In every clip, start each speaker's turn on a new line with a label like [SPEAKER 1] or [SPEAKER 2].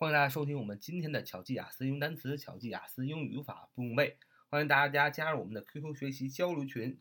[SPEAKER 1] 欢迎大家收听我们今天的巧记雅思英语单词、巧记雅思英语语法不用背。欢迎大家加入我们的 QQ 学习交流群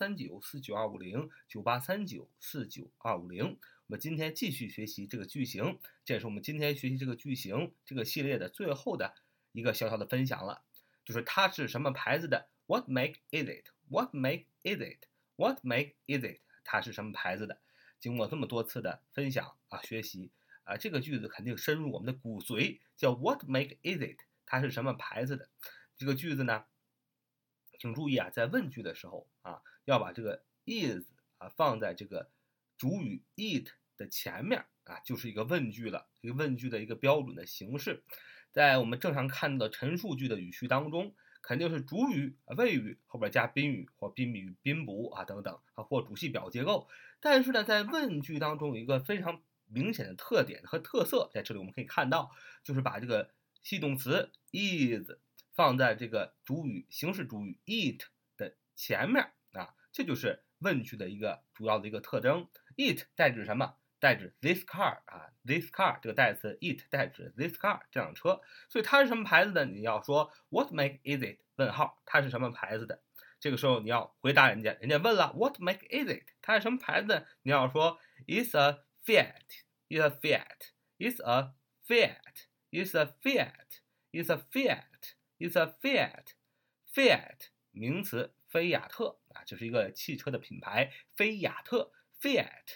[SPEAKER 1] 9839492509，9839492550。我们今天继续学习这个句型，这也是我们今天学习这个句型这个系列的最后的一个小小的分享了，就是它是什么牌子的 ？What make is it? What make is it? What make is it? 它是什么牌子的？经过这么多次的分享学习。这个句子肯定深入我们的骨髓，叫 What make is it？ 它是什么牌子的？这个句子呢，请注意在问句的时候要把这个 is 放在这个主语 it 的前面就是一个问句了，一个问句的一个标准的形式。在我们正常看到的陈述句的语序当中，肯定是主语谓语后边加宾语或宾语宾补等等或主系表结构。但是呢，在问句当中有一个非常明显的特点和特色，在这里我们可以看到，就是把这个系动词 is 放在这个主语形式主语 it 的前面这就是问句的一个主要的一个特征。it 代指什么？代指 this car this car 这个代词 it 代指 this car 这辆车，所以它是什么牌子的？你要说 What make is it？ 问号，它是什么牌子的？这个时候你要回答人家问了 What make is it？ 它是什么牌子的？你要说 It's a Fiat, it's a Fiat, it's a Fiat, it's a Fiat, it's a Fiat, it's a Fiat. Fiat 名词菲亚特这是一个汽车的品牌，菲亚特 Fiat,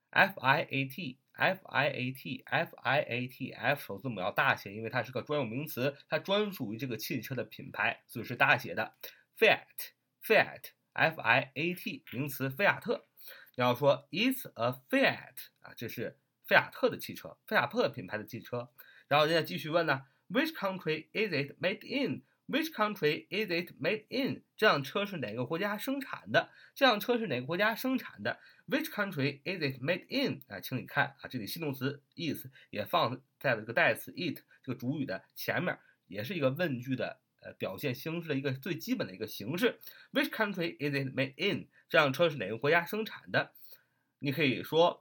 [SPEAKER 1] F-I-A-T, F-I-A-T, F-I-A-T, F 首字母要大写，因为它是个专有名词，它专属于这个汽车的品牌，所以是大写的 Fiat, Fiat, F-I-A-T 名词菲亚特。你要说 It's a Fiat 这是菲亚特的汽车，菲亚特品牌的汽车。然后人家继续问呢 Which country is it made in? Which country is it made in? 这辆车是哪个国家生产的？这辆车是哪个国家生产的？ Which country is it made in? 请你看这里系动词 is 也放在了这个代词 it 这个主语的前面，也是一个问句的表现形式的一个最基本的一个形式。Which country is it made in? 这辆车是哪个国家生产的？你可以说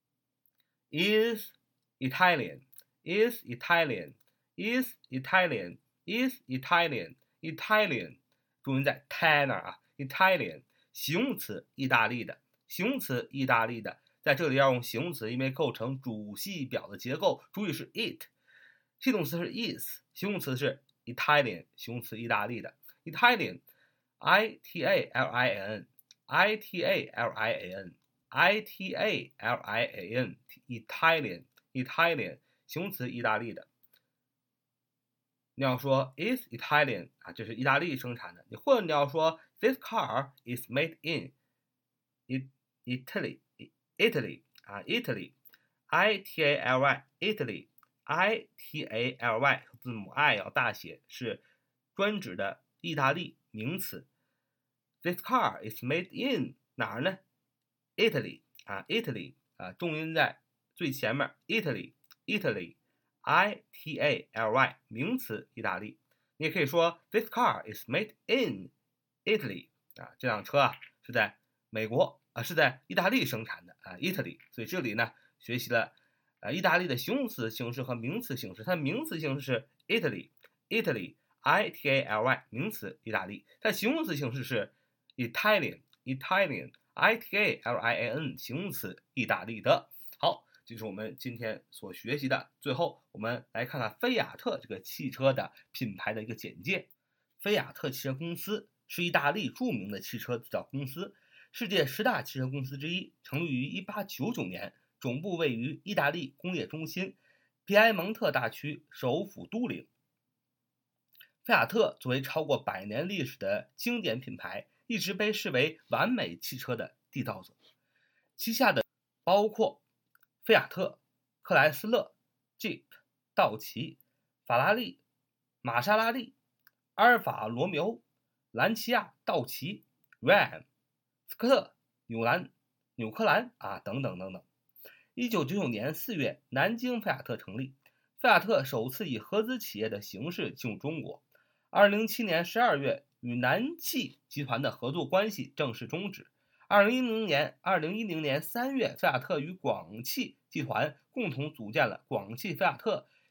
[SPEAKER 1] is Italian, is Italian, is Italian, is Italian, Italian 重音在 t 那儿Italian 形容词意大利的，形容词意大利的，在这里要用形容词，因为构成主系表的结构，主语是 it， 系动词是 is， 形容词是 Italian 形容词意大利的 Italian I-T-A-L-I-A-N I-T-A-L-I-A-N I-T-A-L-I-A-N Italian Italian 形容词意大利的。你要说 is Italian 这是意大利生产的，或者你要说 this car is made in Italy Italy Italy I-T-A-L-Y Italy I-T-A-L-Y 字母 I 要大写，是专指的意大利名词。This car is made in 哪儿呢？ Italy Italy 重音在最前面 Italy Italy I-T-A-L-Y 名词意大利。你也可以说 This car is made in Italy 这辆车是在美国是在意大利生产的Italy。所以这里呢学习了意大利的形容词形式和名词形式。它的名词形式是 Italy Italy I-T-A-L-Y 名词意大利，它的形容词形式是 Italian Italian I-T-A-L-I-A-N 形容词意大利的。好，这是我们今天所学习的。最后我们来看看菲亚特这个汽车的品牌的一个简介。菲亚特汽车公司是意大利著名的汽车制造公司，世界10大汽车公司之一，成立于1899年，总部位于意大利工业中心皮埃蒙特大区首府都灵。菲亚特作为超过100年历史的经典品牌，一直被视为完美汽车的缔造者。旗下的包括菲亚特、克莱斯勒、Jeep、道奇、法拉利、玛莎拉蒂、阿尔法罗密欧、兰奇亚、道奇、Ram、斯科特、纽克兰等等等等。1999年4月，南京菲亚特成立，菲亚特首次以合资企业的形式进入中国。2007年12月，与南汽集团的合作关系正式终止。2010年3月，菲亚特与广汽集团共同组建了广汽菲亚特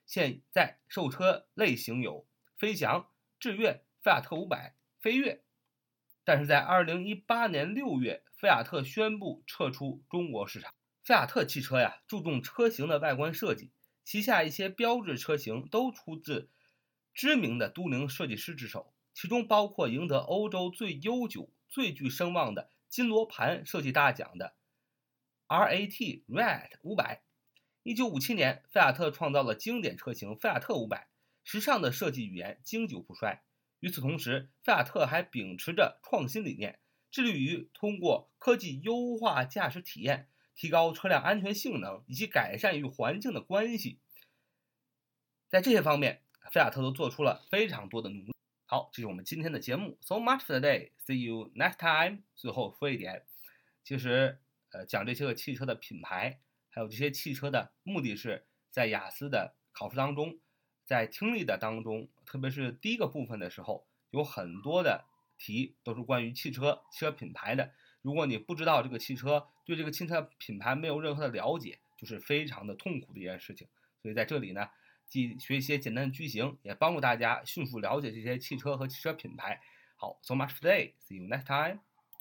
[SPEAKER 1] 现在售车类型有飞翔、致悦、菲亚特500、飞跃。但是在2018年6月，菲亚特宣布撤出中国市场。菲亚特汽车呀，注重车型的外观设计，旗下一些标志车型都出自知名的都灵设计师之手，其中包括赢得欧洲最悠久、最具声望的金罗盘设计大奖的 RAT Red 500。1957年，菲亚特创造了经典车型菲亚特500，时尚的设计语言经久不衰。与此同时，菲亚特还秉持着创新理念，致力于通过科技优化驾驶体验，提高车辆安全性能以及改善与环境的关系。在这些方面，菲亚特都做出了非常多的努力。好，这是我们今天的节目 ，So much for today. See you next time. 最后说一点，其实讲这些个汽车的品牌，还有这些汽车的目的是在雅思的考试当中，在听力的当中，特别是第一个部分的时候，有很多的题都是关于汽车品牌的。如果你不知道这个汽车，对这个汽车品牌没有任何的了解，就是非常的痛苦的一件事情。所以在这里呢，既学一些简单的句型，也帮助大家迅速了解这些汽车和汽车品牌。好，so much for today. See you next time.